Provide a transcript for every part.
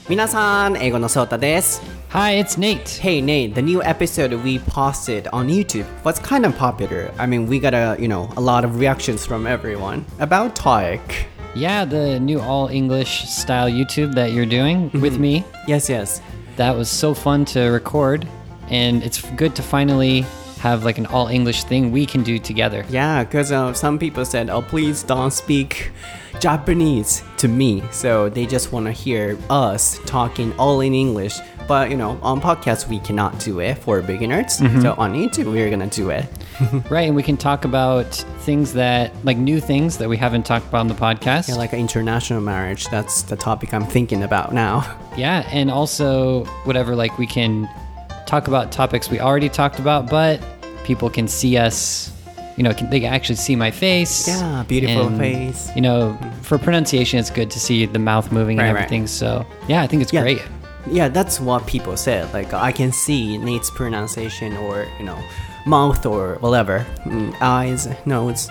皆さん、英語のソータです。 Hi, it's Nate. Hey Nate, the new episode we posted on YouTube was kind of popular. I mean, we got a lot of reactions from everyone about TOEIC. Yeah, the new all-English style YouTube that you're doing with me. Yes, yes. That was so fun to record, and it's good to finally have like an all-English thing we can do together. Yeah, because some people said, oh, please don't speak Japanese to me. So they just want to hear us talking all in English. But, on podcasts, we cannot do it for beginners. So on YouTube, we're going to do it. Right, and we can talk about things that, like new things that we haven't talked about on the podcast. Yeah, like international marriage. That's the topic I'm thinking about now. Yeah, and also whatever, like we can talk about topics we already talked about, but people can see us, they can actually see my face. Yeah, beautiful and, face. For pronunciation, it's good to see the mouth moving and everything. Right. So, yeah, I think it's great. Yeah, that's what people said. Like, I can see Nate's pronunciation or, mouth or whatever. Eyes, nose.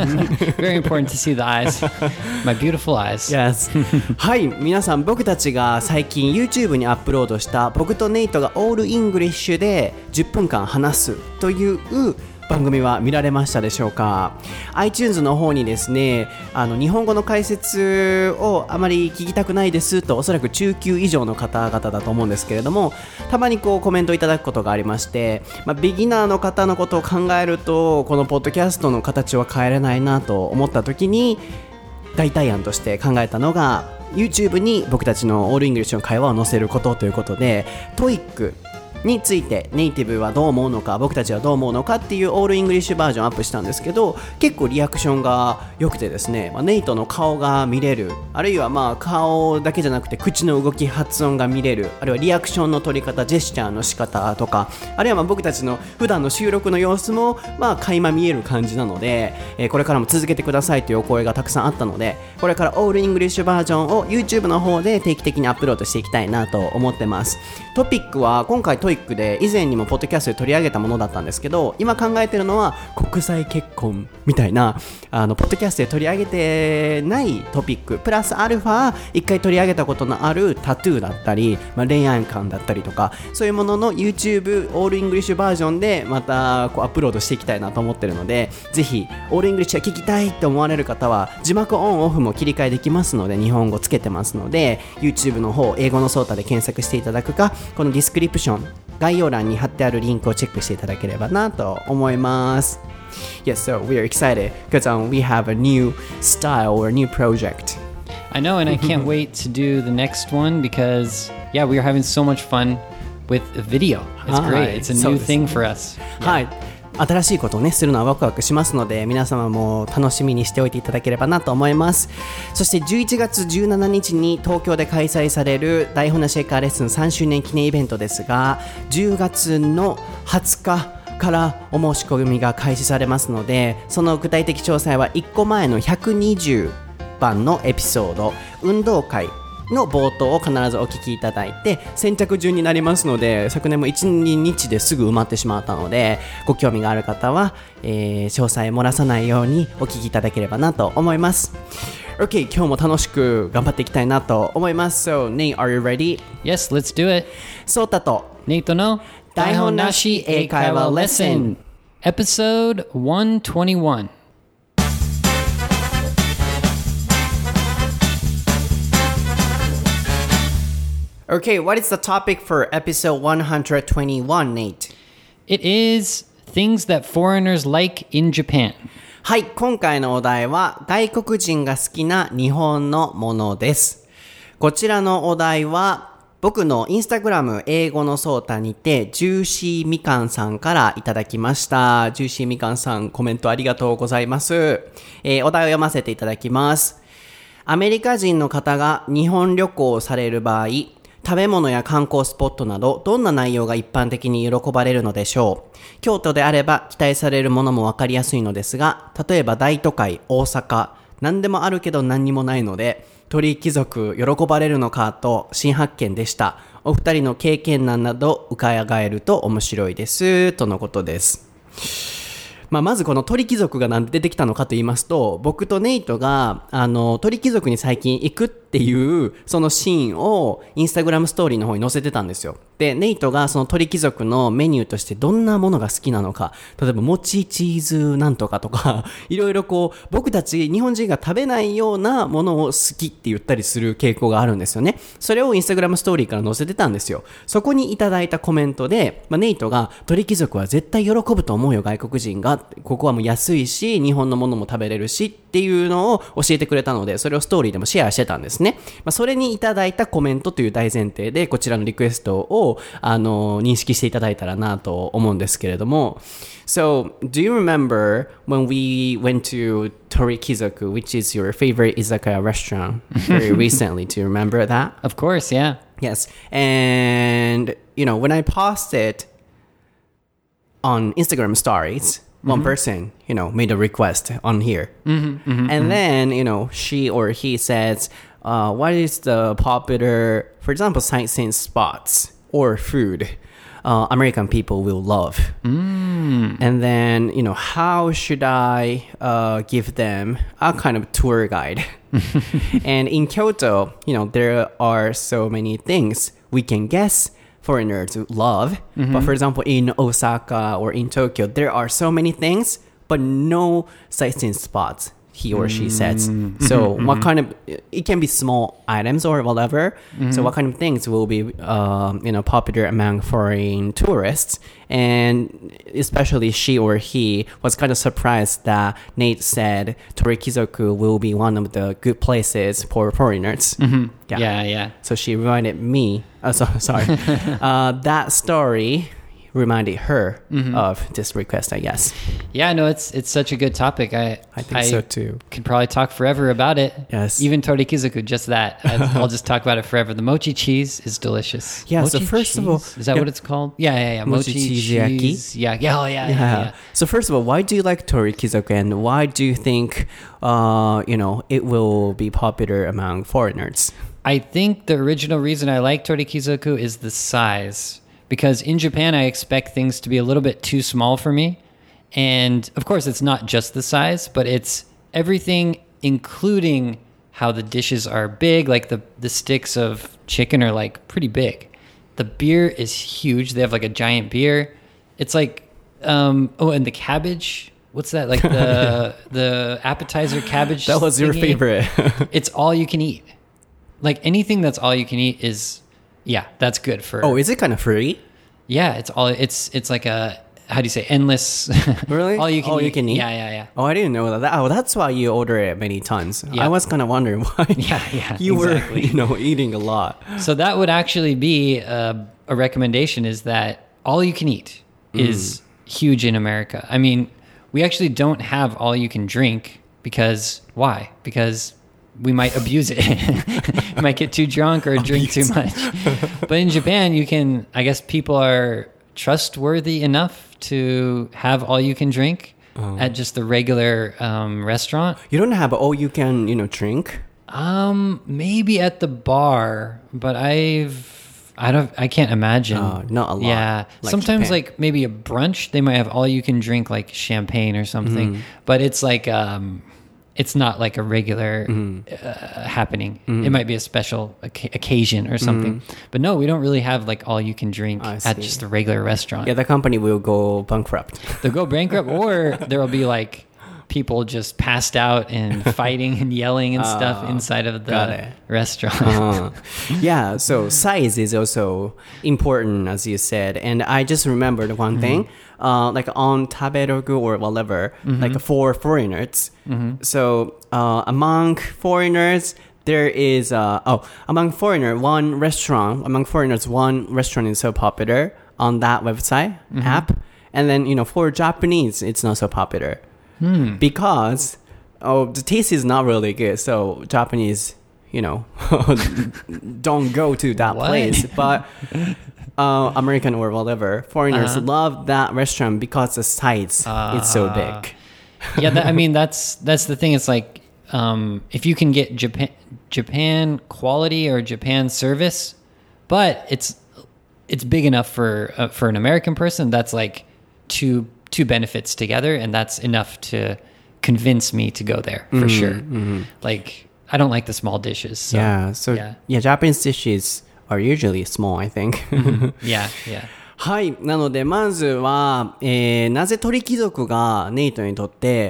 Very important to see the eyes. My beautiful eyes. Yes. はい、皆さん、僕たちが最近 YouTube にアップロードした僕とネイトがオールイングリッシュで10分間話すという番組は見られましたでしょうか。 iTunes の方にですね、日本語の解説をあまり聞きたくないですと、おそらく中級以上の方々だと思うんですけれども、たまにコメントいただくことがありまして、ビギナーの方のことを考えるとこのポッドキャストの形は変えれないなと思った時に、代替案として考えたのが YouTube に僕たちのオールイングリッシュの会話を載せることということで、 TOEICについてネイティブはどう思うのか、僕たちはどう思うのかっていうオールイングリッシュバージョンアップしたんですけど、結構リアクションが良くてですね、ネイトの顔が見れる、あるいは顔だけじゃなくて口の動き、発音が見れる、あるいはリアクションの取り方、ジェスチャーの仕方とか、あるいは僕たちの普段の収録の様子も垣間見える感じなので、これからも続けてくださいというお声がたくさんあったので、これからオールイングリッシュバージョンを YouTube の方で定期的にアップロードしていきたいなと思ってます。トピックは今回TOEICで以前にもポッドキャストで取り上げたものだったんですけど、今考えてるのは国際結婚みたいなポッドキャストで取り上げてないトピックプラスアルファ一回取り上げたことのあるタトゥーだったり、恋愛観だったりとか、そういうものの YouTube オールイングリッシュバージョンでまたアップロードしていきたいなと思ってるので、ぜひオールイングリッシュが聞きたいと思われる方は字幕オンオフも切り替えできますので、日本語つけてますので YouTube の方英語のソータで検索していただくか、このディスクリプション概要欄に貼ってあるリンクをチェックしていただければなと思います。 Yes, so we are excited because we have a new style or a new project. I know, and I can't wait to do the next one because, yeah, we are having so much fun with video. It's great. It's a new thing for us. はい、新しいことをねするのはワクワクしますので、皆様も楽しみにしておいていただければなと思います。そして11月17日に東京で開催される台本なシェイカーレッスン3周年記念イベントですが、10月の20日からお申し込みが開始されますので、その具体的詳細は1個前の120番のエピソード、運動会の冒頭を必ずお聞きいただいて、先着順になりますので、昨年も 1,2 日ですぐ埋まってしまったので、ご興味がある方は、詳細漏らさないようにお聞きいただければなと思います。 OK、 今日も楽しく頑張っていきたいなと思います。 So Nate, are you ready? Yes, let's do it. ソータとネイトの台本なし英会話レッスン Episode 121. Okay, what is the topic for episode 121, Nate? It is things that foreigners like in Japan. はい、今回のお題は外国人が好きな日本のものです。こちらのお題は僕のインスタグラム英語のソータにてジューシーみかんさんからいただきました。ジューシーみかんさん、コメントありがとうございます。お題を読ませていただきます。アメリカ人の方が日本旅行をされる場合、食べ物や観光スポットなどどんな内容が一般的に喜ばれるのでしょう。京都であれば期待されるものもわかりやすいのですが、例えば大都会大阪、何でもあるけど何にもないので鳥貴族喜ばれるのかと新発見でした。お二人の経験談など伺えると面白いですとのことです。まずこの鳥貴族がなんで出てきたのかと言いますと、僕とネイトが鳥貴族に最近行くってっていうそのシーンをインスタグラムストーリーの方に載せてたんですよ。でネイトがその鳥貴族のメニューとしてどんなものが好きなのか、例えばもちチーズなんとかとかいろいろこう僕たち日本人が食べないようなものを好きって言ったりする傾向があるんですよね。それをインスタグラムストーリーから載せてたんですよ。そこにいただいたコメントで、ネイトが鳥貴族は絶対喜ぶと思うよ外国人が、ここはもう安いし日本のものも食べれるしっていうのを教えてくれたので、それをストーリーでもシェアしてたんですね。それにいただいたコメントという大前提でこちらのリクエストを認識していただいたらなと思うんですけれども。So, do you remember when we went to Torikizoku, which is your favorite izakaya restaurant very recently? Do you remember that? Of course, yeah. Yes. And, when I posted on Instagram stories, one person, made a request on here. And then, she or he says, what is the popular, for example, sightseeing spots or food American people will love? And then, how should I give them a kind of tour guide? And in Kyoto, there are so many things we can guess foreigners love. But for example, in Osaka or in Tokyo, there are so many things, but no sightseeing spots, he or she says. So what kind of, it can be small items or whatever. So what kind of things will be, popular among foreign tourists? And especially she or he was kind of surprised that Nate said Torikizoku will be one of the good places for foreigners. Yeah. So she reminded me, that story reminded her of this request, I guess. Yeah, no, it's such a good topic. I think so too. Could probably talk forever about it. Yes. Even Torikizoku, just that. I'll just talk about it forever. The mochi cheese is delicious. Yeah, mochi so first cheese? of all... Is that what it's called? Yeah. Mochi cheese. Yeah. So first of all, why do you like Torikizoku and why do you think, it will be popular among foreigners? I think the original reason I like Torikizoku is the size. Because in Japan, I expect things to be a little bit too small for me. And of course, it's not just the size, but it's everything, including how the dishes are big. Like the sticks of chicken are like pretty big. The beer is huge. They have like a giant beer. It's like, and the cabbage. What's that? Like the appetizer cabbage. That was your favorite. It's all you can eat. Like anything that's all you can eat is... Yeah, that's good for... Oh, is it kind of free? Yeah, it's like a... How do you say? Endless... Really? all you can eat. Yeah. Yeah. Oh, I didn't know that. Oh, that's why you order it many times. Yeah. I was kind of wondering why you exactly. were, eating a lot. So that would actually be a recommendation, is that all you can eat is huge in America. I mean, we actually don't have all you can drink because... Why? Because... we might abuse it. We might get too drunk or drink too much. But in Japan, I guess people are trustworthy enough to have all you can drink at just the regular restaurant. You don't have all you can, drink? Maybe at the bar, but I can't imagine. Not a lot. Yeah. Like sometimes Japan. like maybe a brunch, they might have all you can drink like champagne or something, but it's like, it's not like a regular happening. It might be a special occasion or something. But no, we don't really have like all you can drink at just a regular restaurant. Yeah, the company will go bankrupt. They'll go bankrupt, or there will be like people just passed out and fighting and yelling and stuff inside of the restaurant. Yeah, so size is also important, as you said. And I just remembered one thing. Like on Taberogu or whatever, like for foreigners. So among foreigners, there is among foreigners, one restaurant is so popular on that website app, and then for Japanese, it's not so popular because the taste is not really good. So Japanese, don't go to that place, but. American or whatever, foreigners love that restaurant because the size is so big. Yeah, that's the thing. It's like if you can get Japan quality or Japan service, but it's big enough for an American person. That's like two benefits together, and that's enough to convince me to go there for sure. Like I don't like the small dishes. So, yeah, Japanese dishes are usually small, I think. yeah, yeah. はい。なので、まずは、なぜ鳥貴族がネイトにとって、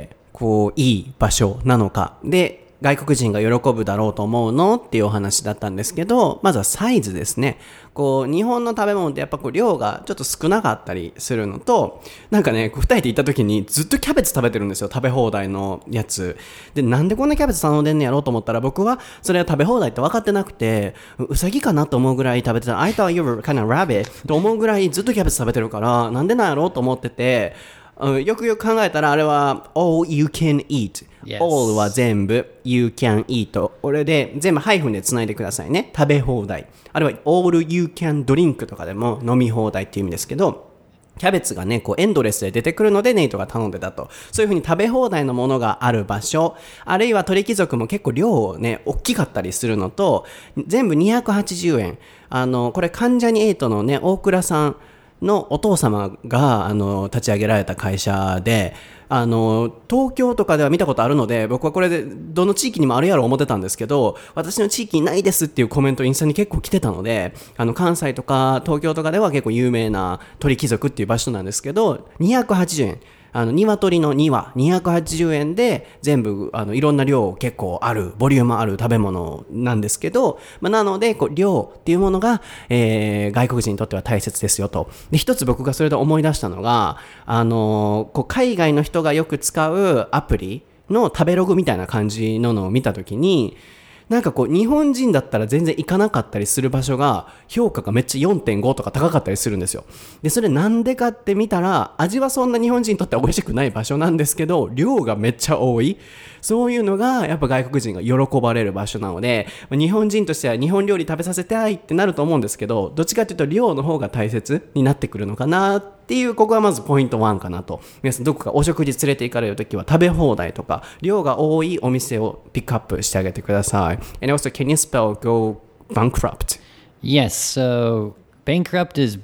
こう、いい場所なのか。で、外国人が喜ぶだろうと思うのっていうお話だったんですけど、まずはサイズですね。こう、日本の食べ物ってやっぱこう、量がちょっと少なかったりするのと、なんかね、二人で行った時にずっとキャベツ食べてるんですよ。食べ放題のやつ。で、なんでこんなキャベツ頼んでんねやろうと思ったら、僕はそれは食べ放題って分かってなくて、うさぎかなと思うぐらい食べてた。I thought you were kind of rabbit と思うぐらいずっとキャベツ食べてるから、なんでなんやろうと思ってて、よくよく考えたらあれは all you can eat、yes. all は全部 you can eat これで全部ハイフンでつないでくださいね。食べ放題、あるいは all you can drink とかでも飲み放題っていう意味ですけど、キャベツがねこうエンドレスで出てくるのでネイトが頼んでたと。そういう風に食べ放題のものがある場所、あるいは鳥貴族も結構量をね大きかったりするのと、全部280円。これ関ジャニ∞のね大倉さんのお父様が立ち上げられた会社で、東京とかでは見たことあるので、僕はこれでどの地域にもあるやろう思ってたんですけど、私の地域にないですっていうコメントインスタに結構来てたので、関西とか東京とかでは結構有名な鳥貴族っていう場所なんですけど、280円。鶏の2羽280円で全部いろんな量結構あるボリュームある食べ物なんですけど、なのでこう量っていうものが、外国人にとっては大切ですよと。で一つ僕がそれで思い出したのがこう海外の人がよく使うアプリの食べログみたいな感じのを見たときに、なんかこう日本人だったら全然行かなかったりする場所が評価がめっちゃ 4.5 とか高かったりするんですよ。でそれなんでかって見たら、味はそんな日本人にとっては美味しくない場所なんですけど、量がめっちゃ多い、そういうのがやっぱ外国人が喜ばれる場所なので、日本人としては日本料理食べさせたいってなると思うんですけど、どっちかというと量の方が大切になってくるのかなっていう、ここはまずポイント1かなと。皆さんどこかお食事連れて行かれるときは食べ放題とか量が多いお店をピックアップしてあげてください。And also, can you spell go bankrupt? Yes, so bankrupt is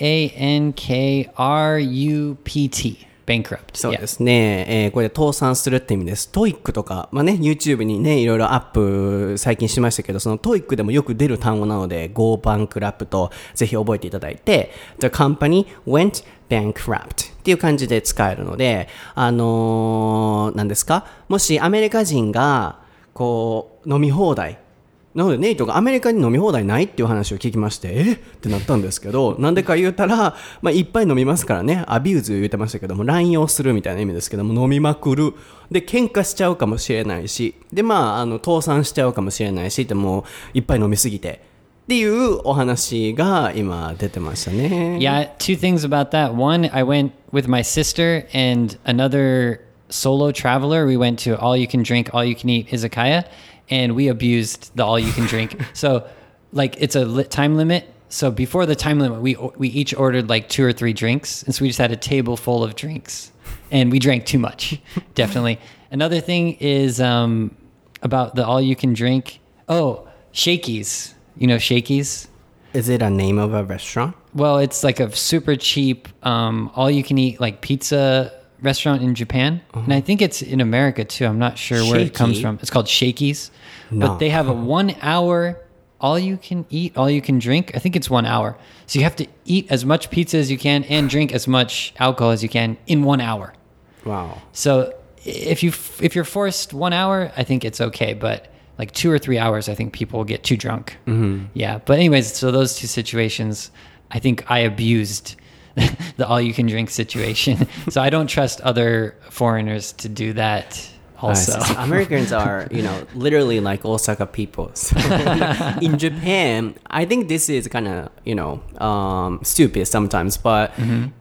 B-A-N-K-R-U-P-T. bankrupt. そうですね。これで倒産するって意味です。トイックとか、YouTube にね、いろいろアップ最近しましたけど、そのトイックでもよく出る単語なので、go bankrupt ぜひ覚えていただいて、The company went bankrupt っていう感じで使えるので、何ですか？もしアメリカ人が、こう、飲み放題、なのでネイトがアメリカに飲み放題ないっていう話を聞きまして、ってなったんですけど、なんでか言うたら、いっぱい飲みますからね、アビューズ言ってましたけども、乱用するみたいな意味ですけども、飲みまくる。で、喧嘩しちゃうかもしれないし、で、倒産しちゃうかもしれないし、でも、いっぱい飲みすぎて。っていうお話が今出てましたね。 Yeah, two things about that. One, I went with my sister and another solo traveler. We went to all you can drink, all you can eat izakaya.And we abused the all you can drink. So like it's a time limit. So before the time limit, we each ordered like 2 or 3 drinks. And so we just had a table full of drinks and we drank too much. Definitely. Another thing is about the all you can drink. Oh, Shakey's. You know Shakey's? Is it a name of a restaurant? Well, it's like a super cheap all you can eat like pizza restaurant in Japan, and I think it's in America too. I'm not sure where it comes from. It's called Shakey's, but they have a 1 hour all you can eat, all you can drink. I think it's 1 hour. So you have to eat as much pizza as you can and drink as much alcohol as you can in 1 hour. Wow. So if you're forced 1 hour, I think it's okay, but like 2 or 3 hours, I think people will get too drunk. Mm-hmm. Yeah. But anyways, so those two situations, I think I abused the all-you-can-drink situation. So I don't trust other foreigners to do that also. Americans are, literally like Osaka people. So in Japan, I think this is kind of, stupid sometimes, but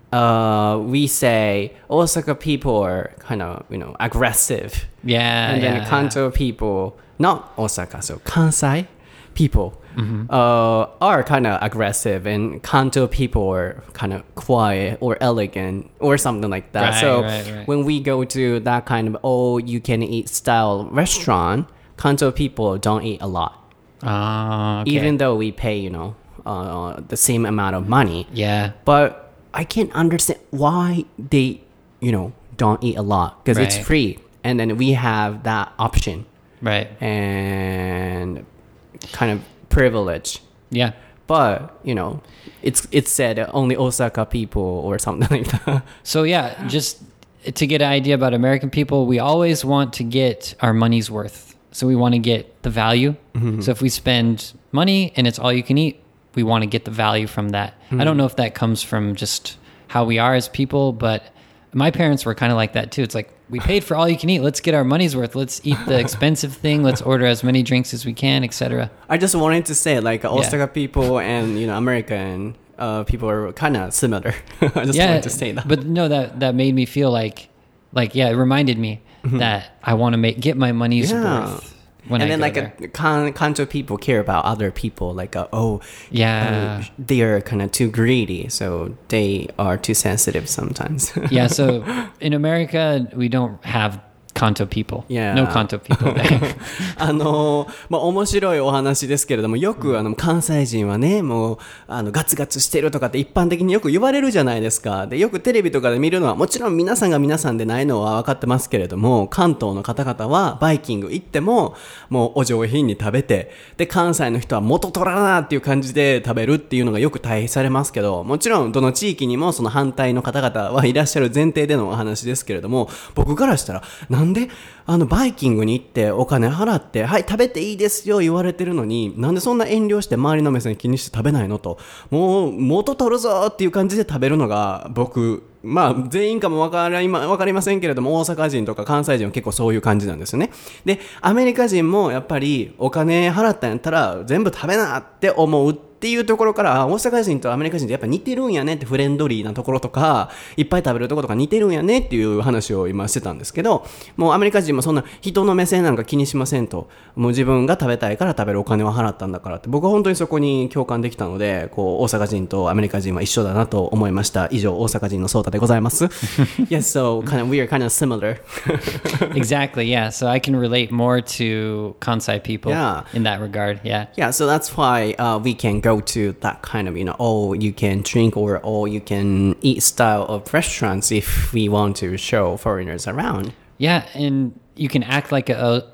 we say Osaka people are kind of, aggressive. Yeah. And then Kanto people, not Osaka, so Kansai people. Are kind of aggressive, and Kanto people are kind of quiet or elegant or something like that. Right. When we go to that kind of all-you-can-eat style restaurant, Kanto people don't eat a lot. Okay. Even though we pay, the same amount of money. Yeah. But I can't understand why they, don't eat a lot, because it's free. And then we have that option Right. and kind of privilege. Yeah. But, it's said only Osaka people or something like that. So yeah, just to get an idea about American people, we always want to get our money's worth. So we want to get the value. So if we spend money and it's all you can eat, we want to get the value from that. I don't know if that comes from just how we are as people, but my parents were kind of like that too. It's like, we paid for all you can eat. Let's get our money's worth. Let's eat the expensive thing. Let's order as many drinks as we can, etc. I just wanted to say, like, Osaka people and, American people are kind of similar. I just wanted to say that. But no, that made me feel like it reminded me that I want to get my money's worth. When and I then go like there. Kanto people care about other people, like Yeah. they are kind of too greedy, so they are too sensitive sometimes. Yeah, so in America we don't have Kanto people. Yeah. No Kanto people there. 面白いお話ですけれども、よく関西人はね、もうガツガツしてるとかって一般的によく言われるじゃないですか。で、よくテレビとかで見るのは、もちろん皆さんが皆さんでないのは分かってますけれども、関東の方々はバイキング行ってももうお上品に食べて、で関西の人は元取らなっていう感じで食べるっていうのがよく対比されますけど、もちろんどの地域にもその反対の方々はいらっしゃる前提でのお話ですけれども、僕からしたらなんでバイキングに行ってお金払ってはい食べていいですよ言われてるのに、なんでそんな遠慮して周りの目線気にして食べないのと、もう元取るぞっていう感じで食べるのが僕、まあ全員かもわかりませんけれども、大阪人とか関西人は結構そういう感じなんですよね。でアメリカ人もやっぱりお金払ったんやったら全部食べなって思うっていうところから、大阪人とアメリカ人ってやっぱ似てるんやねって、フレンドリーなところとかいっぱい食べるところとか似てるんやねっていう話を今してたんですけど、もうアメリカ人もそんな人の目線なんか気にしませんと、もう自分が食べたいから食べるお金を払ったんだからって、僕は本当にそこに共感できたので、こう大阪人とアメリカ人は一緒だなと思いました。以上、大阪人のソータでございます。Yes, so we are kind of similar. Exactly, yeah. So I can relate more to Kansai people Yeah. in that regard, yeah. Yeah, so that's why we can go to that kind of, all you can drink or all you can eat style of restaurants if we want to show foreigners around. Yeah, and you can act like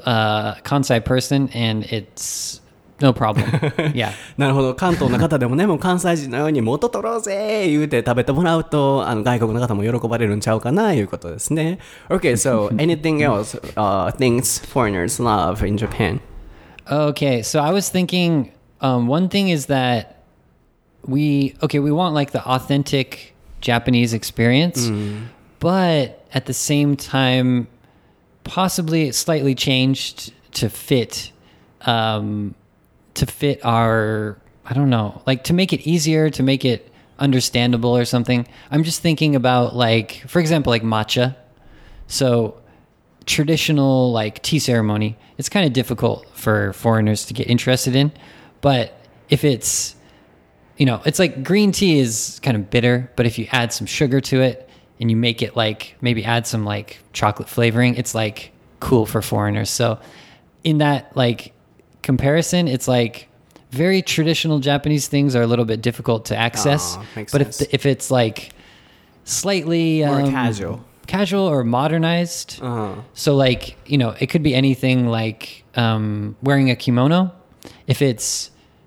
a Kansai person and it's no problem. Yeah. なるほど。関東の方でもね、もう関西人のように元取ろうぜ言うて食べてもらうと、外国の方も喜ばれるんちゃうかないうことですね。Okay, so anything else, things foreigners love in Japan? Okay, so I was thinking one thing is that we want like the authentic Japanese experience, but at the same time, possibly slightly changed to fit our, I don't know, like to make it easier, to make it understandable or something. I'm just thinking about like, for example, like matcha. So traditional like tea ceremony, it's kind of difficult for foreigners to get interested in, but if it's, it's like green tea is kind of bitter, but if you add some sugar to it and you make it like, maybe add some like chocolate flavoring, it's like cool for foreigners. So in that like comparison, it's like very traditional Japanese things are a little bit difficult to access. Makes but sense. if it's like slightly More casual or modernized, so like, it could be anything like wearing a kimono. If it's,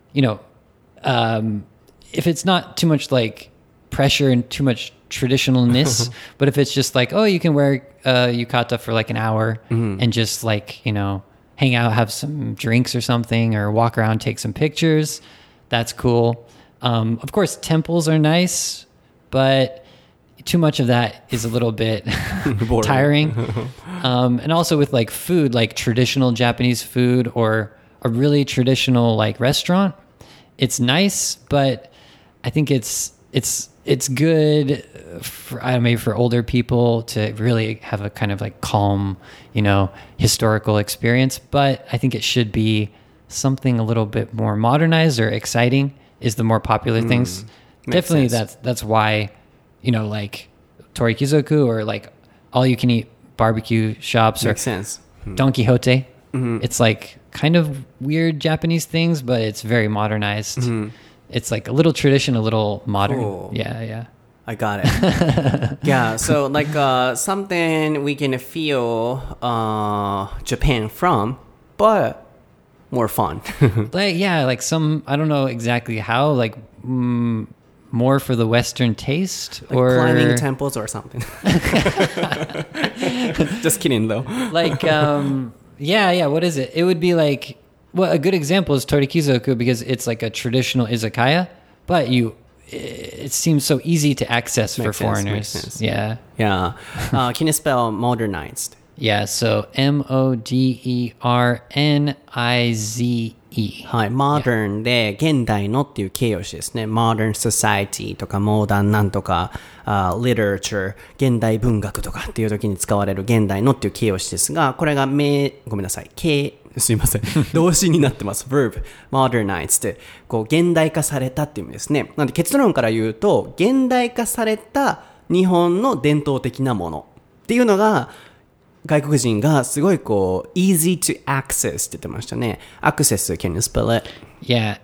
if it's not too much like pressure and too much traditionalness, but if it's just like, oh, you can wear yukata for like an hour and just like, hang out, have some drinks or something, or walk around, take some pictures, that's cool. Of course, temples are nice, but too much of that is a little bit tiring. And also with like food, like traditional Japanese food or a really traditional like restaurant, it's nice, but I think it's good for, maybe for older people to really have a kind of like calm, historical experience. But I think it should be something a little bit more modernized or exciting is the more popular things. Definitely sense. that's why, like Torikizoku or like all you can eat barbecue shops or Makes sense. Don Quixote. It's like kind of weird Japanese things, but it's very modernized. It's like a little tradition, a little modern. Cool. Yeah. I got it. Yeah, so like something we can feel Japan from but more fun. Like, yeah, like some, I don't know exactly how, like more for the Western taste, Like or climbing temples or something. Just kidding though. like, yeah, what is it? It would be like, well, a good example is Torikizoku because it's like a traditional izakaya, but it seems so easy to access for Makes sense, foreigners. makes sense. Yeah. Yeah. Can you spell modernized? Yeah, so MODERNIZE. はい、modern で現代のっていう形容詞ですね。modern society とか modern なんとか、literature 現代文学とかっていう時に使われる現代のっていう形容詞ですが、これがごめんなさい、すいません、動詞になってます。verb modernize ってこう現代化されたっていう意味ですね。なので結論から言うと現代化された日本の伝統的なものっていうのが外国人がすごいこう easy to access って言ってましたね。access, can you spell it? Yeah,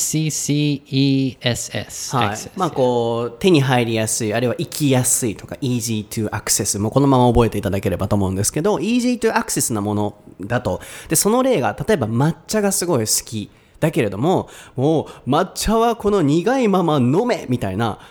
ACCESS. はい。 access. まあこう手に入りやすい、あるいは行きやすいとか easy to access もうこのまま覚えていただければと思うんですけど easy to access なものだと。で、その例が例えば抹茶がすごい好きだけれども、もう抹茶はこの苦いまま飲めみたいな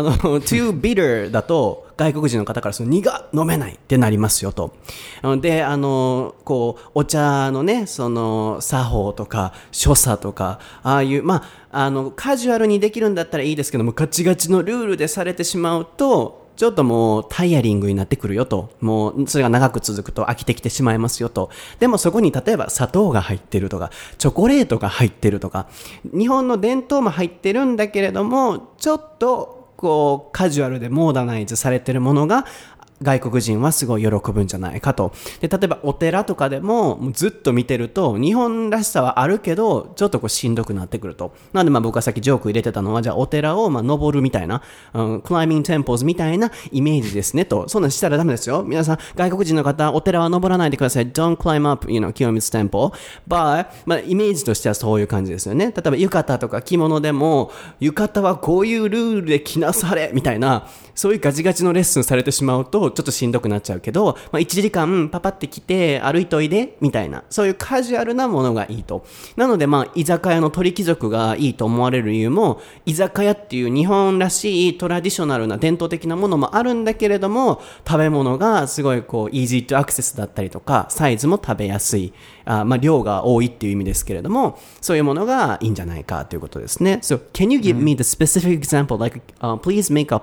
too bitter だと外国人の方からその飲めないってなりますよと。で、こう、お茶のね、その、作法とか、所作とか、ああいう、まあ、カジュアルにできるんだったらいいですけども、ガチガチのルールでされてしまうと、ちょっともうタイヤリングになってくるよと。もうそれが長く続くと飽きてきてしまいますよと。でもそこに例えば砂糖が入ってるとか、チョコレートが入ってるとか、日本の伝統も入ってるんだけれども、ちょっとこうカジュアルでモーダナイズされてるものが外国人はすごい喜ぶんじゃないかと。で、例えばお寺とかでもずっと見てると日本らしさはあるけどちょっとこうしんどくなってくると。なのでまあ僕はさっきジョーク入れてたのはじゃあお寺をまあ登るみたいな、climbing temples みたいなイメージですねと。そんなんしたらダメですよ。皆さん外国人の方お寺は登らないでください。Don't climb up, Kiyomitsu Temple. But まあイメージとしてはそういう感じですよね。例えば浴衣とか着物でも浴衣はこういうルールで着なされみたいなそういうガチガチのレッスンされてしまうとちょっとしんどくなっちゃうけど、まあ、1時間パパって来て歩いといでみたいなそういうカジュアルなものがいいと。なのでまあ居酒屋の鳥貴族がいいと思われる理由も居酒屋っていう日本らしいトラディショナルな伝統的なものもあるんだけれども食べ物がすごいこうイージートアクセスだったりとかサイズも食べやすいまあ量が多いっていう意味ですけれどもそういうものがいいんじゃないかということですね。So can you give me the specific example like、please make a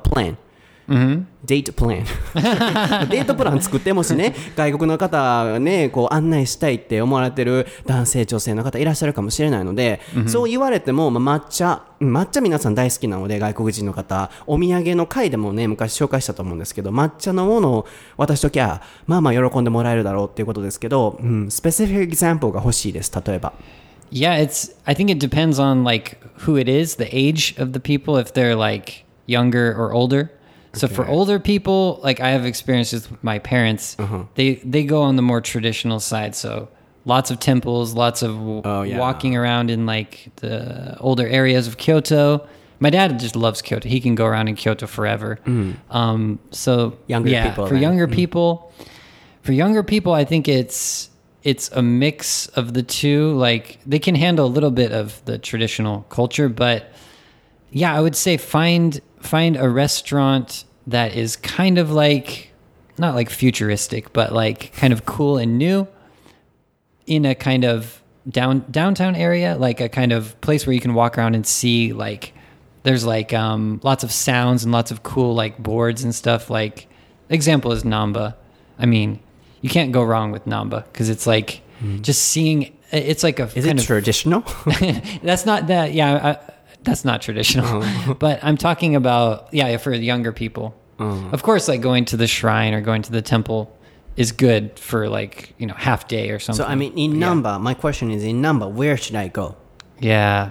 plan?デートプランデートプラン作ってもしね外国の方がねこう案内したいって思われてる男性女性の方いらっしゃるかもしれないので、そう言われても、まあ、抹茶皆さん大好きなので外国人の方お土産の回でもね昔紹介したと思うんですけど抹茶のものを渡しときゃまあまあ喜んでもらえるだろうっていうことですけど、スペシフィックエグザンプルが欲しいです例えば。 Yeah, I think it depends on like who it is, the age of the people, if they're like younger or older.So for older people, like I have experiences with my parents, they go on the more traditional side. So lots of temples, lots of walking around in like the older areas of Kyoto. My dad just loves Kyoto. He can go around in Kyoto forever. So younger people, for younger people, I think it's a mix of the two. Like they can handle a little bit of the traditional culture, but yeah, I would say find a restaurant that is kind of like not like futuristic but like kind of cool and new in a kind of downtown area, like a kind of place where you can walk around and see like there's like lots of sounds and lots of cool like boards and stuff. Like example is Namba. I mean you can't go wrong with Namba because it's like just seeing it's like a is it traditional? That's not that that's not traditional, but I'm talking about, for younger people. Of course, like going to the shrine or going to the temple is good for like, half day or something. So, I mean, in Namba, my question is in Namba, where should I go? Yeah.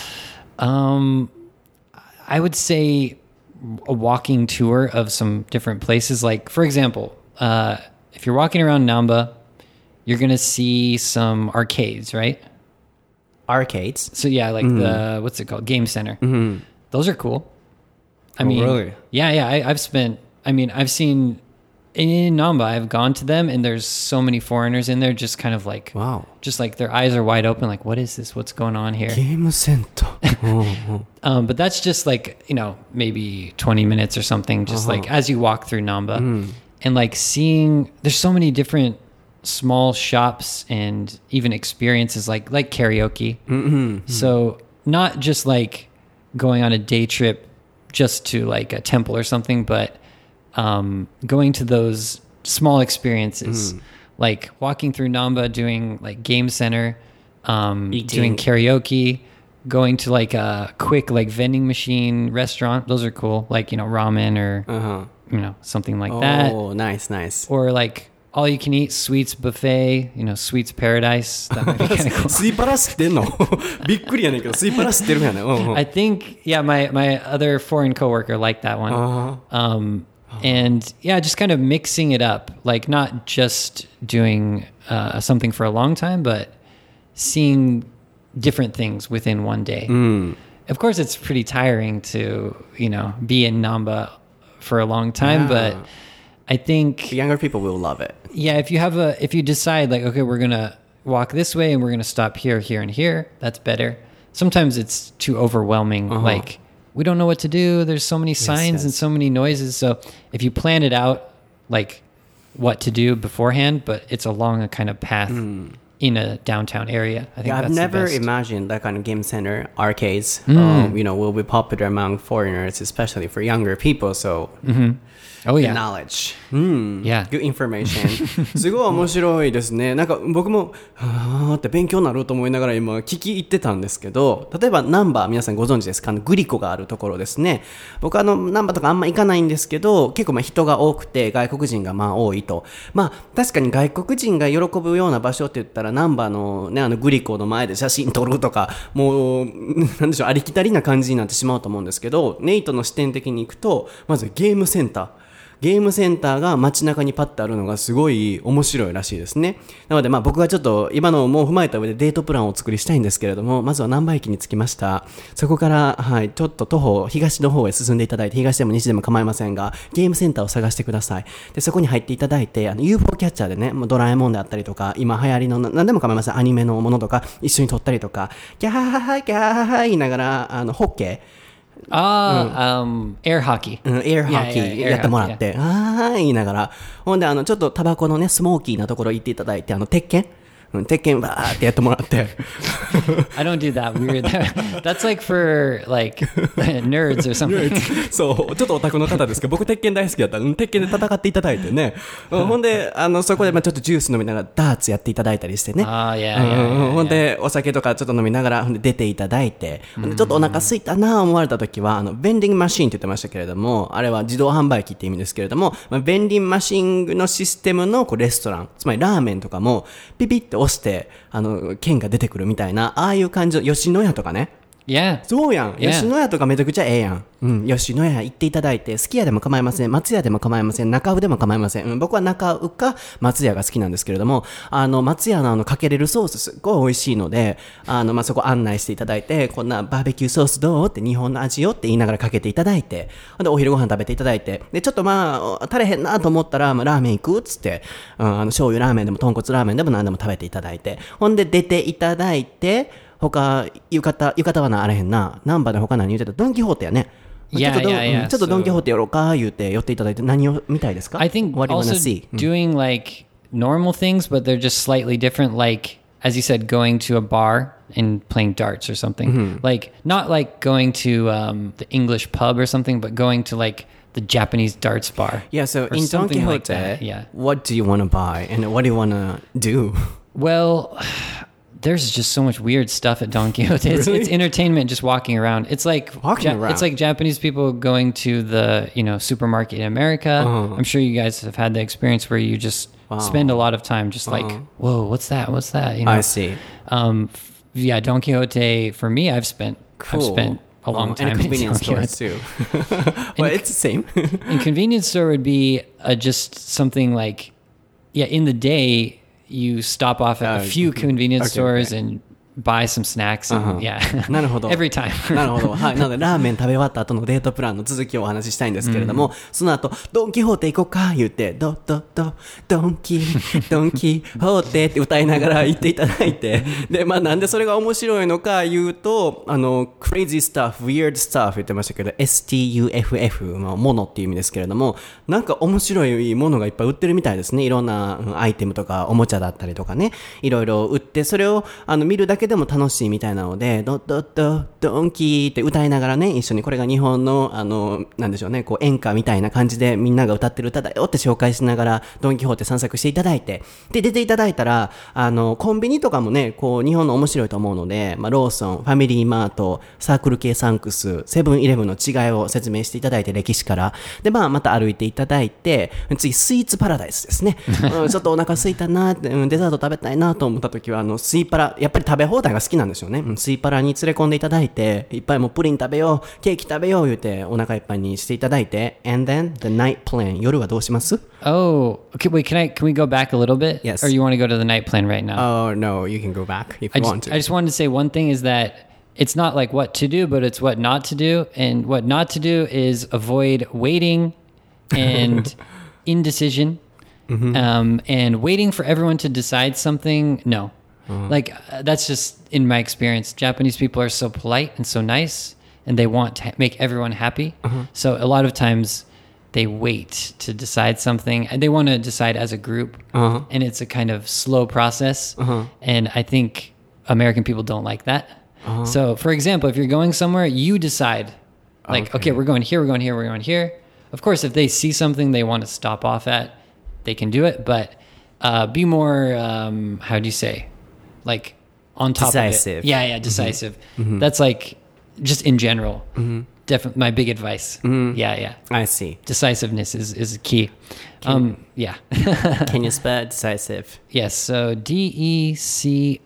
I would say a walking tour of some different places. Like, for example, if you're walking around Namba, you're going to see some arcades, right?Arcades. So yeah, like the what's it called? Game Center. Those are cool. I mean, really? Yeah. I've seen in Namba, I've gone to them, and there's so many foreigners in there, just kind of like, Wow. just like their eyes are wide open, like, what is this? What's going on here? ゲームセンター。 But that's just like, maybe 20 minutes or something, just like as you walk through Namba. And like seeing, there's so many different small shops and even experiences like karaoke. So not just like going on a day trip just to like a temple or something, but going to those small experiences, like walking through Namba, doing like game center, doing karaoke, going to like a quick like vending machine restaurant. Those are cool, like ramen or something like that. Oh, nice, nice. Or like all you can eat sweets buffet, sweets paradise. That might be kind of cool. スイパラ知ってんのびっくりやねんけど、スイパラ知ってるやねん。 I think, yeah, my other foreign coworker liked that one. And yeah, just kind of mixing it up, like not just doing something for a long time, but seeing different things within one day. Of course, it's pretty tiring to, be in Namba for a long time, but I think Younger people will love it. yeah, if you decide like, okay, we're going to walk this way and we're going to stop here, here, and here, that's better. Sometimes it's too overwhelming. Like, we don't know what to do. There's so many signs and so many noises. So if you plan it out, like what to do beforehand, but it's along a kind of path in a downtown area, I think Yeah, that's I've never the best. imagined that kind of game center arcades, will be popular among foreigners, especially for younger people. So, Oh yeah. knowledge. Yeah. Good information. すごい面白いですね。なんか僕もはーって勉強になると思いながら今聞き入ってたんですけど、例えばナンバー皆さんご存知ですか？グリコがあるところですね。僕ナンバーとかあんま行かないんですけど、結構人が多くて外国人が多いと。確かに外国人が喜ぶような場所って言ったらナンバーのねグリコの前で写真撮るとか、もうなんでしょうありきたりな感じになってしまうと思うんですけど、ネイトの視点的に行くとまずゲームセンター。ゲームセンターが街中にパッとあるのがすごい面白いらしいですね。なので僕はちょっと今のをもう踏まえた上でデートプランをお作りしたいんですけれども、まずは難波駅に着きました。そこから、ちょっと徒歩、東の方へ進んでいただいて、東でも西でも構いませんが、ゲームセンターを探してください。で、そこに入っていただいて、UFO キャッチャーでね、ドラえもんであったりとか、今流行りの何でも構いません。アニメのものとか一緒に撮ったりとか、ギャハハハギャハハ言いながら、ホッケー、 air hockey. エアハッキ Yeah, yeah, ーやってもらって、言いながら、ほんでちょっとタバコのね、スモーキーなところ行っていただいて、鉄拳鉄拳バーってやってもらって。 I don't do that weird. That's like for like nerds or something. そう、ちょっとオタクの方ですけど、僕鉄拳大好きだったら、鉄拳で戦っていただいてね。ほんで、そこでちょっとジュース飲みながらダーツやっていただいたりしてね。ほんで、お酒とかちょっと飲みながら、ほんで出ていただいて、ほんでちょっとお腹空いたなぁ思われた時は、ベンディングマシーンって言ってましたけれども、あれは自動販売機って意味ですけれども、ベンディングマシンのシステムのレストラン、つまりラーメンとかも、ピピって押して、券が出てくるみたいな、ああいう感じの、吉野家とかね。 Yeah. そうやん。 Yeah. 吉野家とかめちゃくちゃええやん。吉野家行っていただいて、すき家でも構いません。松屋でも構いません。中尾でも構いません。僕は中尾か松屋が好きなんですけれども、松屋のかけれるソースすっごい美味しいので、そこ案内していただいて、こんなバーベキューソースどうって日本の味よって言いながらかけていただいて、で、お昼ご飯食べていただいて、で、ちょっと足れへんなと思ったら、ラーメン行くっつって、醤油ラーメンでも豚骨ラーメンでも何でも食べていただいて、ほんで出ていただいて、他、浴衣はなあれへんな。ナンバーで他何言ってた？ドンキホーテやね。 Yeah, yeah. ちょっとドンキホーテやろうか言うて寄っていただいて何を見たいですか？ I think What do you wanna also see? doing like normal things, but they're just slightly different. Like, as you said, going to a bar and playing darts or something. Like, not like going to the English pub or something, but going to like the Japanese darts bar. Yeah, so or in Don something like Quixote, that, yeah. what do you want to buy and what do you want to do? Well, there's just so much weird stuff at Don Quixote. It's entertainment just walking around. It's like it's like Japanese people going to the supermarket in America. I'm sure you guys have had the experience where you just spend a lot of time just like, whoa, what's that? What's that? I see. Yeah, Don Quixote for me, I've spent a long time and convenience in Don stores too. Well, it's the same. And convenience store would be just something like, in the day. You stop off at a few convenience stores and buy some snacks and yeah. なるほど Every time. なるほど、はい、なのでラーメン食べ終わった後のデートプランの続きをお話ししたいんですけれども、その後ドンキホーテ行こうか言ってドンキホーテって歌いながら言っていただいてで、まあ、なんでそれが面白いのか言うとcrazy stuff weird stuff 言ってましたけど STUFF ものっていう意味ですけれども、なんか面白いものがいっぱい売ってるみたいですね。いろんなアイテムとかおもちゃだったりとかね、いろいろ売って、それを見るだけでも楽しいみたいなのでドンキーって歌いながらね、一緒にこれが日本のなんでしょうね、こう演歌みたいな感じでみんなが歌ってる歌だよって紹介しながらドンキホーテ散策していただいて、で出ていただいたらコンビニとかもね、こう日本の面白いと思うので、まあ、ローソン、ファミリーマート、サークル系サンクス、セブンイレブンの違いを説明していただいて、歴史からで、まあ、また歩いていただいて、次スイーツパラダイスですね、ちょっとお腹空いたなって、デザート食べたいなと思った時はスイパラ、やっぱり食べ放題が好きなんですよね。スイパラに連れ込んでいただいて、いっぱいもうプリン食べよう、ケーキ食べよう言うてお腹いっぱいにしていただいて、 and then the night plan、 夜はどうします？ Oh, okay. Wait, can we go back a little bit? Yes. Or you want to go to the night plan right now? Oh no, you can go back if you want to. I just wanted to say one thing is that it's not like what to do, but it's what not to do. And what not to do is avoid waiting and indecision, and waiting for everyone to decide something. No. Like that's just in my experience. Japanese people are so polite and so nice, and they want to make everyone happy. So a lot of times they wait to decide something, and they want to decide as a group, and it's a kind of slow process. And I think American people don't like that. So, for example, if you're going somewhere, you decide, like, okay, we're going here, we're going here, we're going here. Of course, if they see something they want to stop off at, they can do it. But be more, how do you say, like on top decisive. of it. Yeah, decisive. That's like just in general. Definitely my big advice. Yeah. I see. Decisiveness is key. Yeah. Can you spell decisive? Yes. So DECISIVE.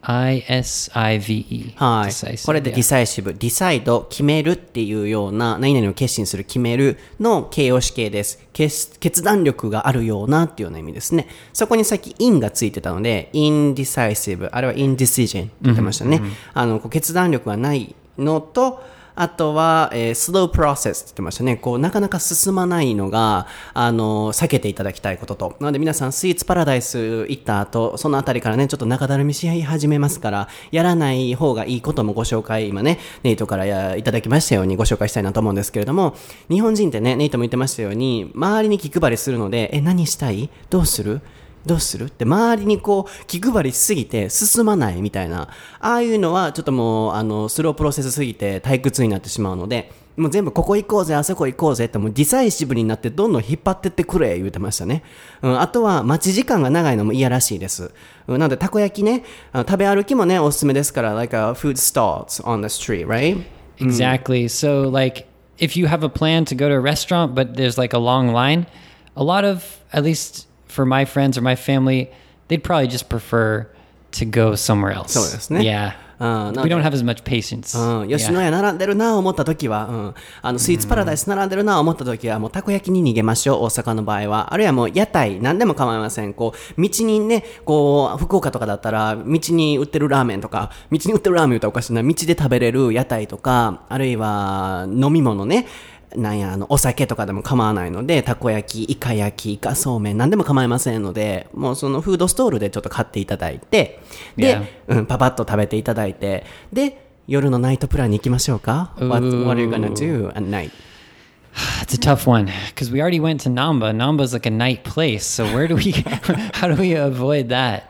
はい。 Decisive, これで decisive、decide 決めるっていうような、何々を決心する、決めるの形容詞形です。決断力があるようなっていうような意味ですね。そこにさっき in がついてたので indecisive、 あれは indecision って言ってましたね。こう決断力がないのと、あとは、slow process って言ってましたね。こう、なかなか進まないのが、避けていただきたいことと。なので皆さん、スイーツパラダイス行った後、そのあたりからね、ちょっと中だるみし始めますから、やらない方がいいこともご紹介、今ね、ネイトからいただきましたようにご紹介したいなと思うんですけれども、日本人ってね、ネイトも言ってましたように、周りに気配りするので、何したい？どうするって周りにこう気配りしすぎて進まないみたいな、ああいうのはちょっともうスロープロセスすぎて退屈になってしまうので、もう全部ここ行こうぜあそこ行こうぜってもうディサイシブになってどんどん引っ張ってってくれ言うてましたね。あとは待ち時間が長いのも嫌らしいです。なのでたこ焼きね、食べ歩きもねおすすめですから、 like a food stalls on the street, right? Exactly. So like if you have a plan to go to a restaurant but there's like a long line, a lot of, at least for my friends or my family, they'd probably just prefer to go somewhere else. そうですね。 Yeah. We don't have as much patience. 吉野家並んでるな思った時は、スイーツパラダイス並んでるな思った時はもうたこ焼きに逃げましょう。大阪の場合は、あるいはもう屋台何でも構いません。こう道にね、こう福岡とかだったら道に売ってるラーメンとか、道に売ってるラーメン言ったらおかしいな、道で食べれる屋台とか、あるいは飲み物ね、なんやお酒とかでも構わないので、たこ焼き、イカ焼き、イカそうめん何でも構いませんので、もうそのフードストールでちょっと買っていただいて、で、パパッと食べていただいて、で夜のナイトプランに行きましょうか。What are you gonna do at night? It's a tough one because we already went to Namba. Namba's like a night place, so where do we how do we avoid that?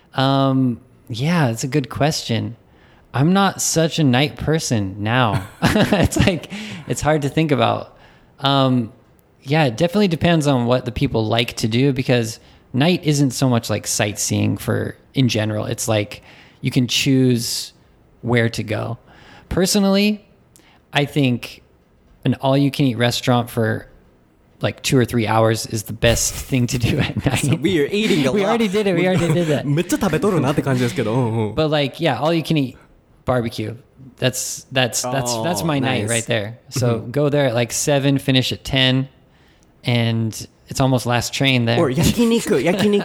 Yeah, it's a good question. I'm not such a night person now. It's like, it's hard to think about. Yeah, it definitely depends on what the people like to do, because night isn't so much like sightseeing in general. It's like you can choose where to go. Personally, I think an all-you-can-eat restaurant for like 2 or 3 hours is the best thing to do at night. So we are eating a lot. We already did it. We already did that. めっちゃ食べとるなって感じですけど。 But like, yeah, all-you-can-eat barbecue. That's my night right there. So go there at like 7, finish at 10, and it's almost last train there. Or 焼肉.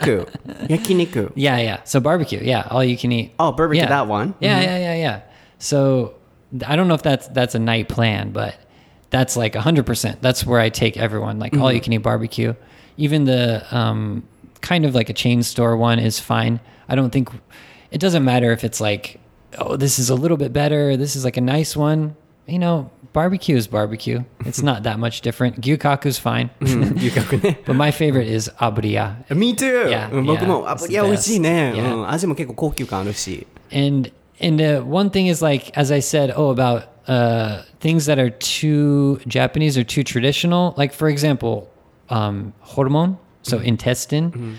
Yeah. So barbecue. Yeah. All you can eat. Oh, barbecue, Yeah. that one. Yeah. So I don't know if that's a night plan, but that's like 100%. That's where I take everyone, like all you can eat barbecue. Even the kind of like a chain store one is fine. I don't think it doesn't matter if it's like, oh, this is a little bit better. This is like a nice one. You know, barbecue is barbecue. It's not that much different. Gyukaku's fine. 牛角ね。 But my favorite is aburiya. Me too! Yeah, 僕も、 yeah, it's the いや、美味しいね。 best. 味も結構高級感あるし。 And one thing is like, as I said, about things that are too Japanese or too traditional. Like, for example, hormone, so intestine.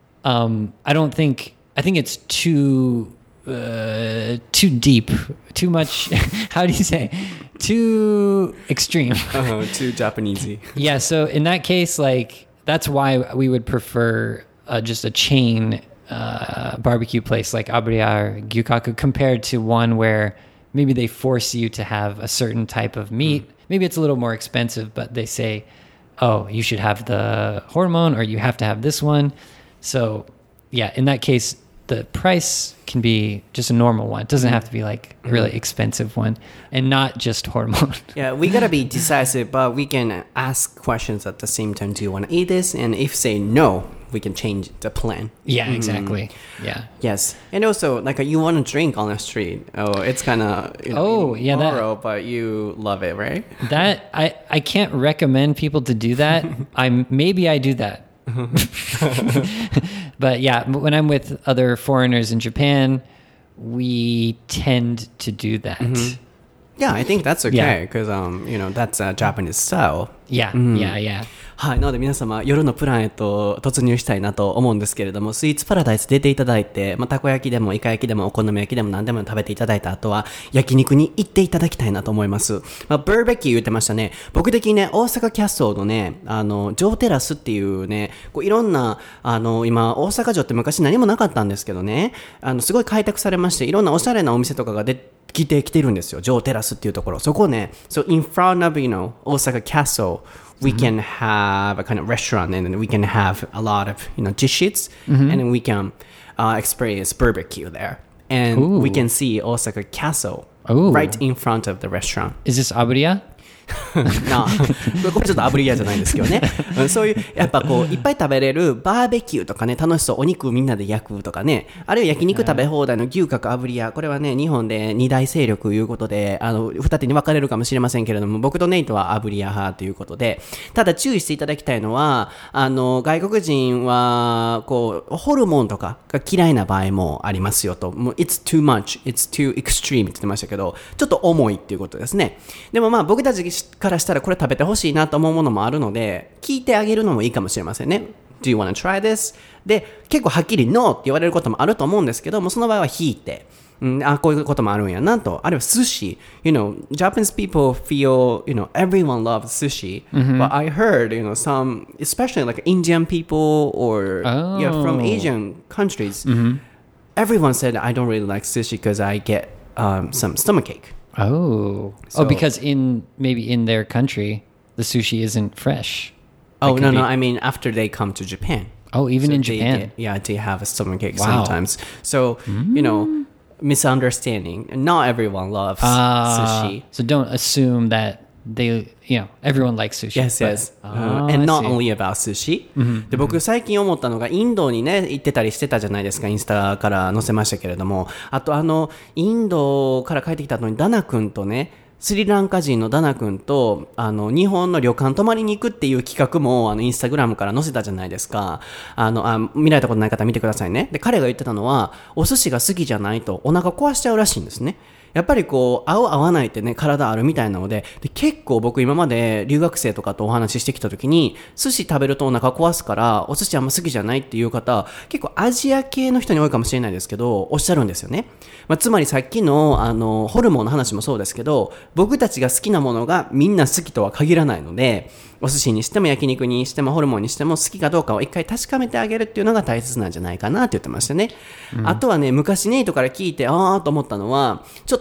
I think it's too deep, too much. How do you say? Too extreme. Too Japanesey. Yeah. So in that case, like that's why we would prefer just a chain barbecue place like Aburiya or Gyukaku compared to one where maybe they force you to have a certain type of meat. Maybe it's a little more expensive, but they say, oh, you should have the hormone or you have to have this one. So yeah, in that case, the price can be just a normal one. It doesn't have to be like a really expensive one and not just hormone. Yeah, we gotta be decisive, but we can ask questions at the same time. Do you want to eat this? And if say no, we can change the plan. Yeah, exactly. Yeah. Yes. And also, like, you want to drink on the street. Oh, it's kind of, Oh, yeah, that- immoral, but you love it, right? That I can't recommend people to do that. Maybe I do that. But yeah, when I'm with other foreigners in Japan, we tend to do that. Yeah, I think that's okay, Yeah. because, that's a Japanese style. Yeah. はい。なので皆様、夜のプランへと突入したいなと思うんですけれども、スイーツパラダイス出ていただいて、たこ焼きでもイカ焼きでもお好み焼きでも何でも食べていただいた後は、焼肉に行っていただきたいなと思います。バーベキュー言ってましたね。僕的にね、大阪キャッスルのね、城テラスっていうね、いろんな、今、大阪城って昔何もなかったんですけどね、すごい開拓されまして、いろんなおしゃれなお店とかが来てるんですよ。城テラスっていうところ。そこをね、so in front of, 大阪キャッスル、we can have a kind of restaurant and we can have a lot of, dishes and then we can experience barbecue there. And we can see Osaka Castle right in front of the restaurant. Is this Aburiya? なこれちょっと炙り屋じゃないんですけどねそういうやっぱいっぱい食べれるバーベキューとかね楽しそうお肉みんなで焼くとかねあるいは焼肉食べ放題の牛角炙り屋これはね日本で二大勢力いうことで二手に分かれるかもしれませんけれども僕とネイトは炙り屋派ということでただ注意していただきたいのは外国人はホルモンとかが嫌いな場合もありますよともう It's too much, it's too extreme って言ってましたけどちょっと重いっていうことですねでも僕たちからしたらこれ食べてほしいなと思うものもあるので聞いてあげるのもいいかもしれませんね Do you want to try this? で結構はっきり No って言われることもあると思うんですけどもその場合は引いてこういうこともあるんやなとあるいは寿司 Japanese people feel everyone loves sushi but I heard some especially like Indian people or from Asian countries everyone said I don't really like sushi because I get some stomachache because maybe in their country the sushi isn't fresh. No, I mean after they come to Japan. Oh, even in Japan. They have a stomachache sometimes. So, misunderstanding. Not everyone loves sushi. So don't assume that everyone likes sushi. Yes. And not only about sushi. で僕最近思ったのがインドにね行ってたりしてたじゃないですかインスタから載せましたけれどもあとインドから帰ってきた後にダナ君とねスリランカ人のダナ君と日本の旅館泊まりに行くっていう企画もインスタグラムから載せたじゃないですか見られたことない方見てくださいねで彼が言ってたのはお寿司が好きじゃないとお腹壊しちゃうらしいんですねやっぱり合う合わないってね体あるみたいなので結構僕今まで留学生とかとお話ししてきた時に寿司食べるとお腹壊すからお寿司あんま好きじゃないっていう方結構アジア系の人に多いかもしれないですけどおっしゃるんですよね、つまりさっきのホルモンの話もそうですけど僕たちが好きなものがみんな好きとは限らないのでお寿司にしても焼肉にしてもホルモンにしても好きかどうかを一回確かめてあげるっていうのが大切なんじゃないかなって言ってましたね、あとはね昔ネイトから聞いてと思ったのはちょっ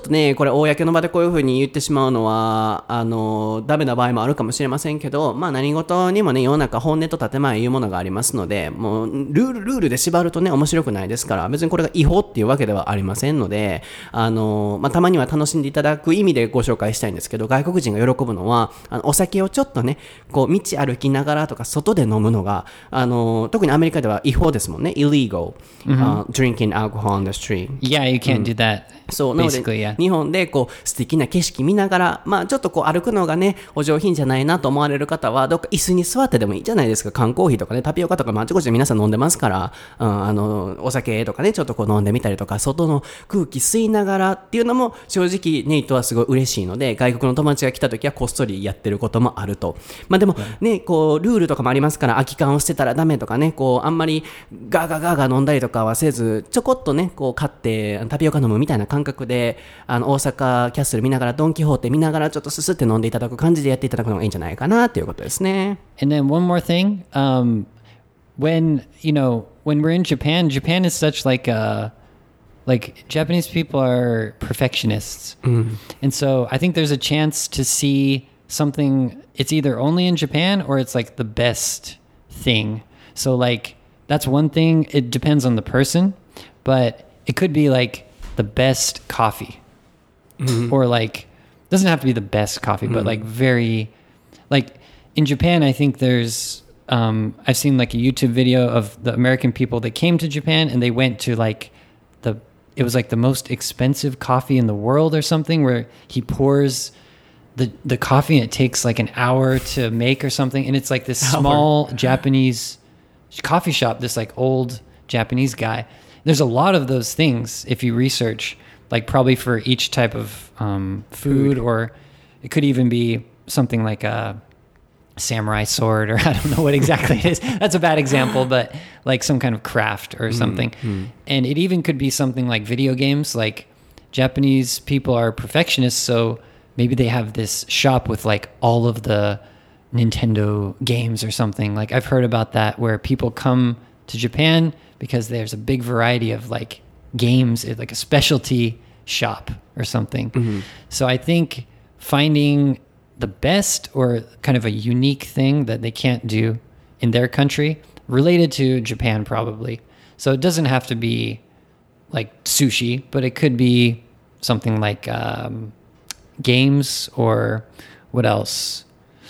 っとね、これ公の場でこういう風に言ってしまうのはダメな場合もあるかもしれませんけど、まあ何事にもね、世の中本音と建前いうものがありますので、もうルールで縛るとね面白くないですから、別にこれが違法っていうわけではありませんので、まあたまには楽しんでいただく意味でご紹介したいんですけど、外国人が喜ぶのはお酒をちょっとね、こう道歩きながらとか外で飲むのが特にアメリカでは違法ですもんね。 illegal、drinking alcohol on the street. Yeah, you can't do that. そうなので Basically, yeah. 日本でこう素敵な景色見ながら、まあちょっとこう歩くのがねお上品じゃないなと思われる方は、どっか椅子に座ってでもいいじゃないですか。缶コーヒーとかね、タピオカとか、あちこちで皆さん飲んでますから、お酒とかねちょっとこう飲んでみたりとか、外の空気吸いながらっていうのも正直ネイトはすごい嬉しいので、外国の友達が来た時はこっそりやってることもあると。まあでもね、こうルールとかもありますから、空き缶を捨てたらダメとかね、こうあんまりガーガーガーガー飲んだりとかはせず、ちょこっとねこう買ってタピオカ飲むみたいな感覚で、大阪キャッスル見ながら、ドンキホーテ見ながらちょっとすすって飲んでいただく感じでやっていただくのがいいんじゃないかなっていうことですね。 And then one more thing, when we're in Japan, Japan is such like Japanese people are perfectionists, and so I think there's a chance to see something. It's either only in Japan or it's like the best thing. So like that's one thing. It depends on the person, but it could be like the best coffee, or like doesn't have to be the best coffee, but like very like in Japan. I think there's I've seen like a YouTube video of the American people that came to Japan and they went to like it was like the most expensive coffee in the world or something, where he pours the coffee and it takes like an hour to make or something, and it's like this small Japanese coffee shop, this like old Japanese guy. There's a lot of those things if you research, like probably for each type of food, or it could even be something like a samurai sword, or I don't know what exactly it is. That's a bad example, but like some kind of craft or something. And it even could be something like video games. Like Japanese people are perfectionists, so maybe they have this shop with like all of the Nintendo games or something. Like I've heard about that, where people come to Japan because there's a big variety of like games, like a specialty shop or something. So I think finding the best or kind of a unique thing that they can't do in their country, related to Japan probably. So it doesn't have to be like sushi, but it could be something like games, or what else?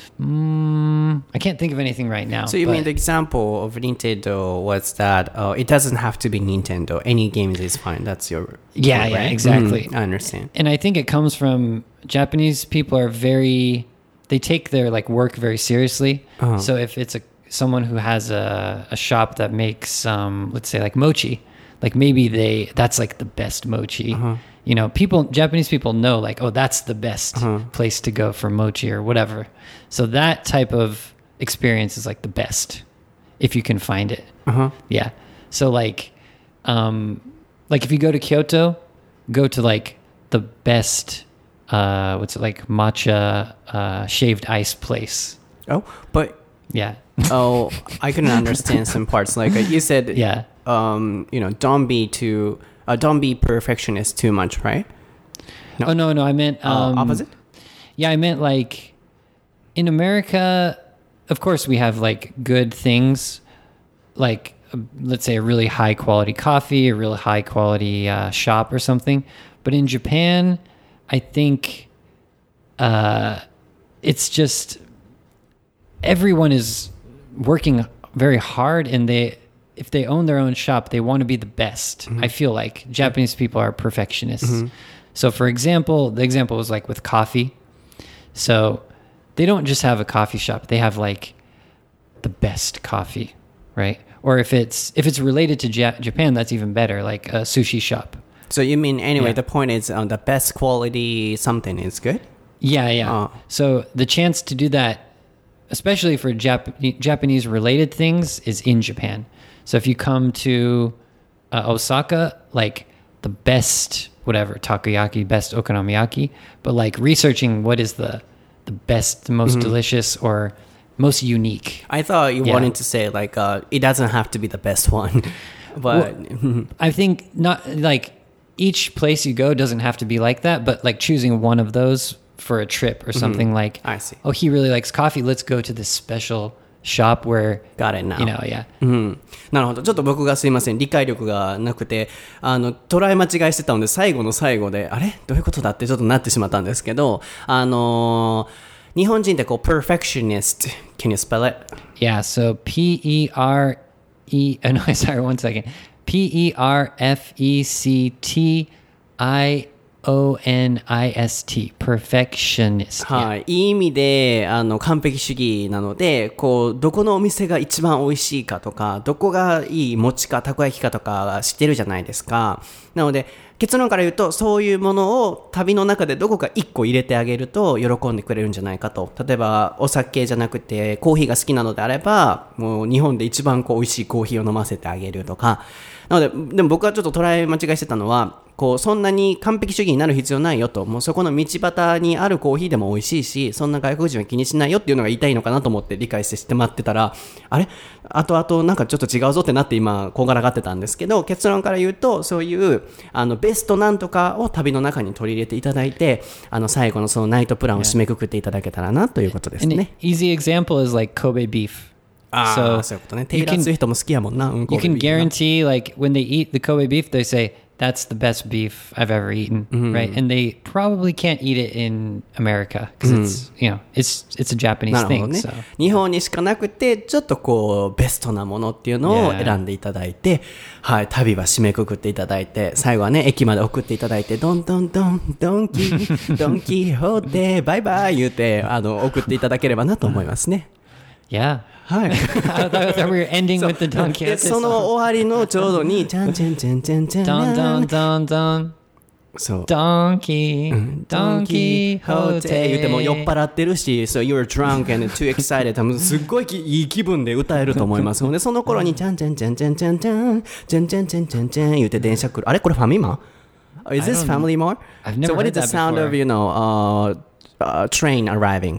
I can't think of anything right now. So you mean the example of Nintendo was that it doesn't have to be Nintendo. Any games is fine. That's your... Yeah, right? yeah, exactly. I understand. And I think it comes from Japanese people are they take their like work very seriously. So if it's someone who has a shop that makes, let's say like mochi, like maybe that's like the best mochi. You know, Japanese people know like, oh, that's the best place to go for mochi or whatever. So that type of experience is like the best if you can find it. Yeah. So like if you go to Kyoto, go to like the best, what's it like, matcha shaved ice place. Oh, but yeah. I couldn't understand some parts. Like you said, yeah. Don't be perfectionist too much, right? No. Oh no, I meant opposite. Yeah, I meant like in America, of course we have like good things, like let's say a really high quality coffee, a really high quality shop or something. But in Japan, I think it's just everyone is working very hard, and if they own their own shop, they want to be the best. I feel like Japanese people are perfectionists. So for example, the example was like with coffee. So they don't just have a coffee shop. They have like the best coffee, right? Or if it's related to Japan, that's even better, like a sushi shop. So you mean anyway, the point is the best quality something is good? Yeah. So the chance to do that, especially for Japanese related things, is in Japan. So if you come to Osaka, like the best, whatever, takoyaki, best okonomiyaki, but like researching what is the best, the most delicious, or most unique. I thought you wanted to say like it doesn't have to be the best one, but I think not like each place you go doesn't have to be like that, but like choosing one of those for a trip or something like, I see. oh, he really likes coffee. Let's go to this special shop where, Got it now. you know, yeah. なるほど。ちょっと僕がすいません。理解力がなくて、捉え間違いしてたので、最後の最後で、あれどういうことだってちょっとなってしまったんですけど、日本人ってこう、perfectionist. Can you spell it? Yeah, so no, sorry, one second. Perfectionist. Perfectionist. はい。いい意味で、完璧主義なので、こう、どこのお店が一番美味しいかとか、どこがいい餅かたこ焼きかとか知ってるじゃないですか。なので、結論から言うと、そういうものを旅の中でどこか一個入れてあげると喜んでくれるんじゃないかと。例えば、お酒じゃなくてコーヒーが好きなのであれば、もう日本で一番こう美味しいコーヒーを飲ませてあげるとか。なので、でも僕はちょっと捉え間違いしてたのは、こうそんなに完璧主義になる必要ないよと、もうそこの道端にあるコーヒーでも美味しいし、そんな外国人は気にしないよっていうのが言いたいのかなと思って理解して待ってたら、あれ後々なんかちょっと違うぞってなって今こんがらがってたんですけど、結論から言うとそういうベストなんとかを旅の中に取り入れていただいて、最後のそのナイトプランを締めくくっていただけたらなということですね。 An easy example is like Kobe beef. そういうことね。テイラー・スウィフトも好きやもんな。 You can guarantee, like, when they eat the Kobe beef, they say, that's the best beef I've ever eaten, right? And they probably can't eat it in America because it's, you know, it's a Japanese なるほど thing. ね。 So. 日本にしかなくて、ちょっとこう、ベストなものっていうのを選んでいただいて、はい、旅は締めくくっていただいて、最後はね、駅まで送っていただいて、ドンドンドン、ドンキホーテ、バイバイ言うて、送っていただければなと思いますね。 Yeah. はい。 I thought we were ending with the Don で Quixote その song. 終わりのちょうどに、チャンチャンチャンチャンチャン。 Don, don, don, don. そう。 Donkey, Donkey 言うても酔っ Hote. 払ってるし、so you're drunk and too excited 多分すっごいいい気分で歌えると思いますので、その頃にチャンチャンチャンチャンチャンチャンチャンチャンチャンチャンチャン言うて電車来る。あれこれファミマ Is this Family Mart? I've never So what heard is the that sound before. of, you know, train arriving?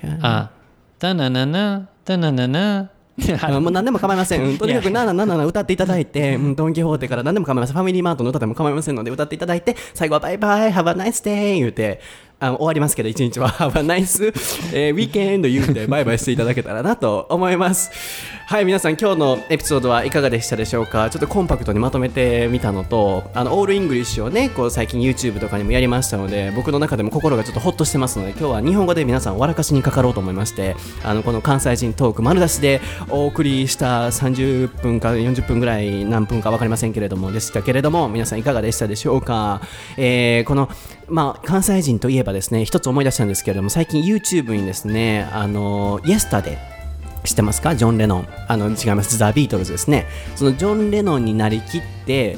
Da-na-na-na, da-na-na-na. もう何でも構いません。とにかく777歌っていただいて、ドンキホーテから何でも構いません。ファミリーマートの歌でも構いませんので歌っていただいて、最後はバイバイ、Have a nice day 言うて、終わりますけど、一日は Have a nice、weekend 言うてバイバイしていただけたらなと思います。はい、皆さん今日のエピソードはいかがでしたでしょうか。ちょっとコンパクトにまとめてみたのと、オールイングリッシュをね、こう最近 YouTube とかにもやりましたので、僕の中でも心がちょっとホッとしてますので、今日は日本語で皆さん笑かしにかかろうと思いまして、この関西人トーク丸出しでお送りした30分か40分ぐらい、何分か分かりませんけれどもでしたけれども、皆さんいかがでしたでしょうか。この関西人といえばですね、一つ思い出したんですけれども、最近 YouTube にですね、Yesterday知ってますか？ジョン・レノン。違います。ザ・ビートルズですね。そのジョン・レノンになりきって、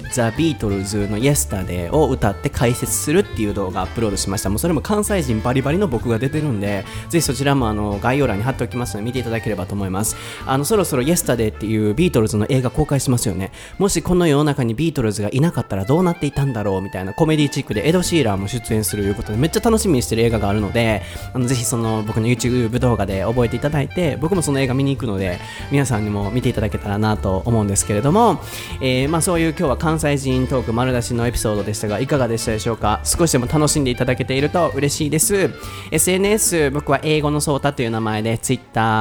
ザ・ビートルズの Yesterday を歌って解説するっていう動画をアップロードしました。もうそれも関西人バリバリの僕が出てるんで、ぜひそちらも概要欄に貼っておきますので見ていただければと思います。そろそろ Yesterday っていうビートルズの映画公開しますよね。もしこの世の中にビートルズがいなかったらどうなっていたんだろうみたいなコメディチックでエド・シーラーも出演するということでめっちゃ楽しみにしてる映画があるので、ぜひその僕の YouTube 動画で覚えていただいて、僕もその映画見に行くので皆さんにも見ていただけたらなと思うんですけれども、そういう今日は関西人トーク丸出しのエピソードでしたがいかがでしたでしょうか。少しでも楽しんでいただけていると嬉しいです。 SNS 僕は英語のソータという名前で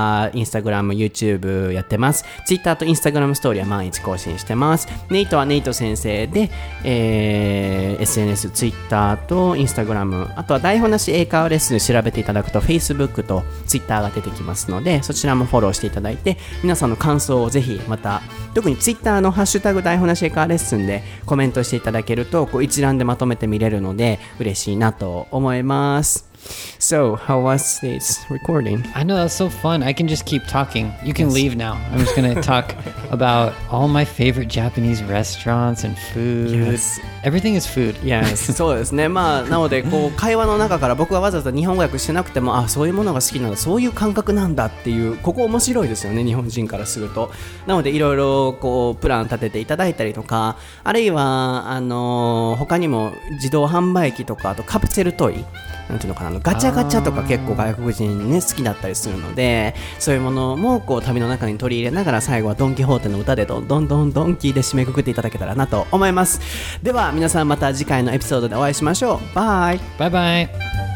Twitter、Instagram、YouTube やってます。 Twitter と Instagram ストーリーは毎日更新してます。ネイトはネイト先生で、SNS、Twitter と Instagram、 あとは台本なし英会話レッスン調べていただくと Facebook と Twitter が出てきますので、そちらもフォローしていただいて、皆さんの感想をぜひまた特に Twitter のハッシュタグ台本なし英会話レッスンでコメントしていただけるとこう一覧でまとめて見れるので嬉しいなと思います。So, how was this recording? I know, that's so fun. I can just keep talking. You can leave now. I'm just going to talk about all my favorite Japanese restaurants and food. Yes. Everything is food. Yes. そうですね。なのでこう会話の中から僕はわざわざ日本語訳してなくても、そういうものが好きなんだ、そういう感覚なんだっていう、ここ面白いですよね、日本人からすると。なのでいろいろこうプラン立てていただいたりとか、あるいは他にも自動販売機とか、あとカプセルトイなんていうのかな、 ガチャガチャとか結構外国人ね好きだったりするので、そういうものもこう旅の中に取り入れながら、最後はドン・キホーテの歌でどんどんどんどん聞いて締めくくっていただけたらなと思います。では皆さん、また次回のエピソードでお会いしましょう。バイバイバイ。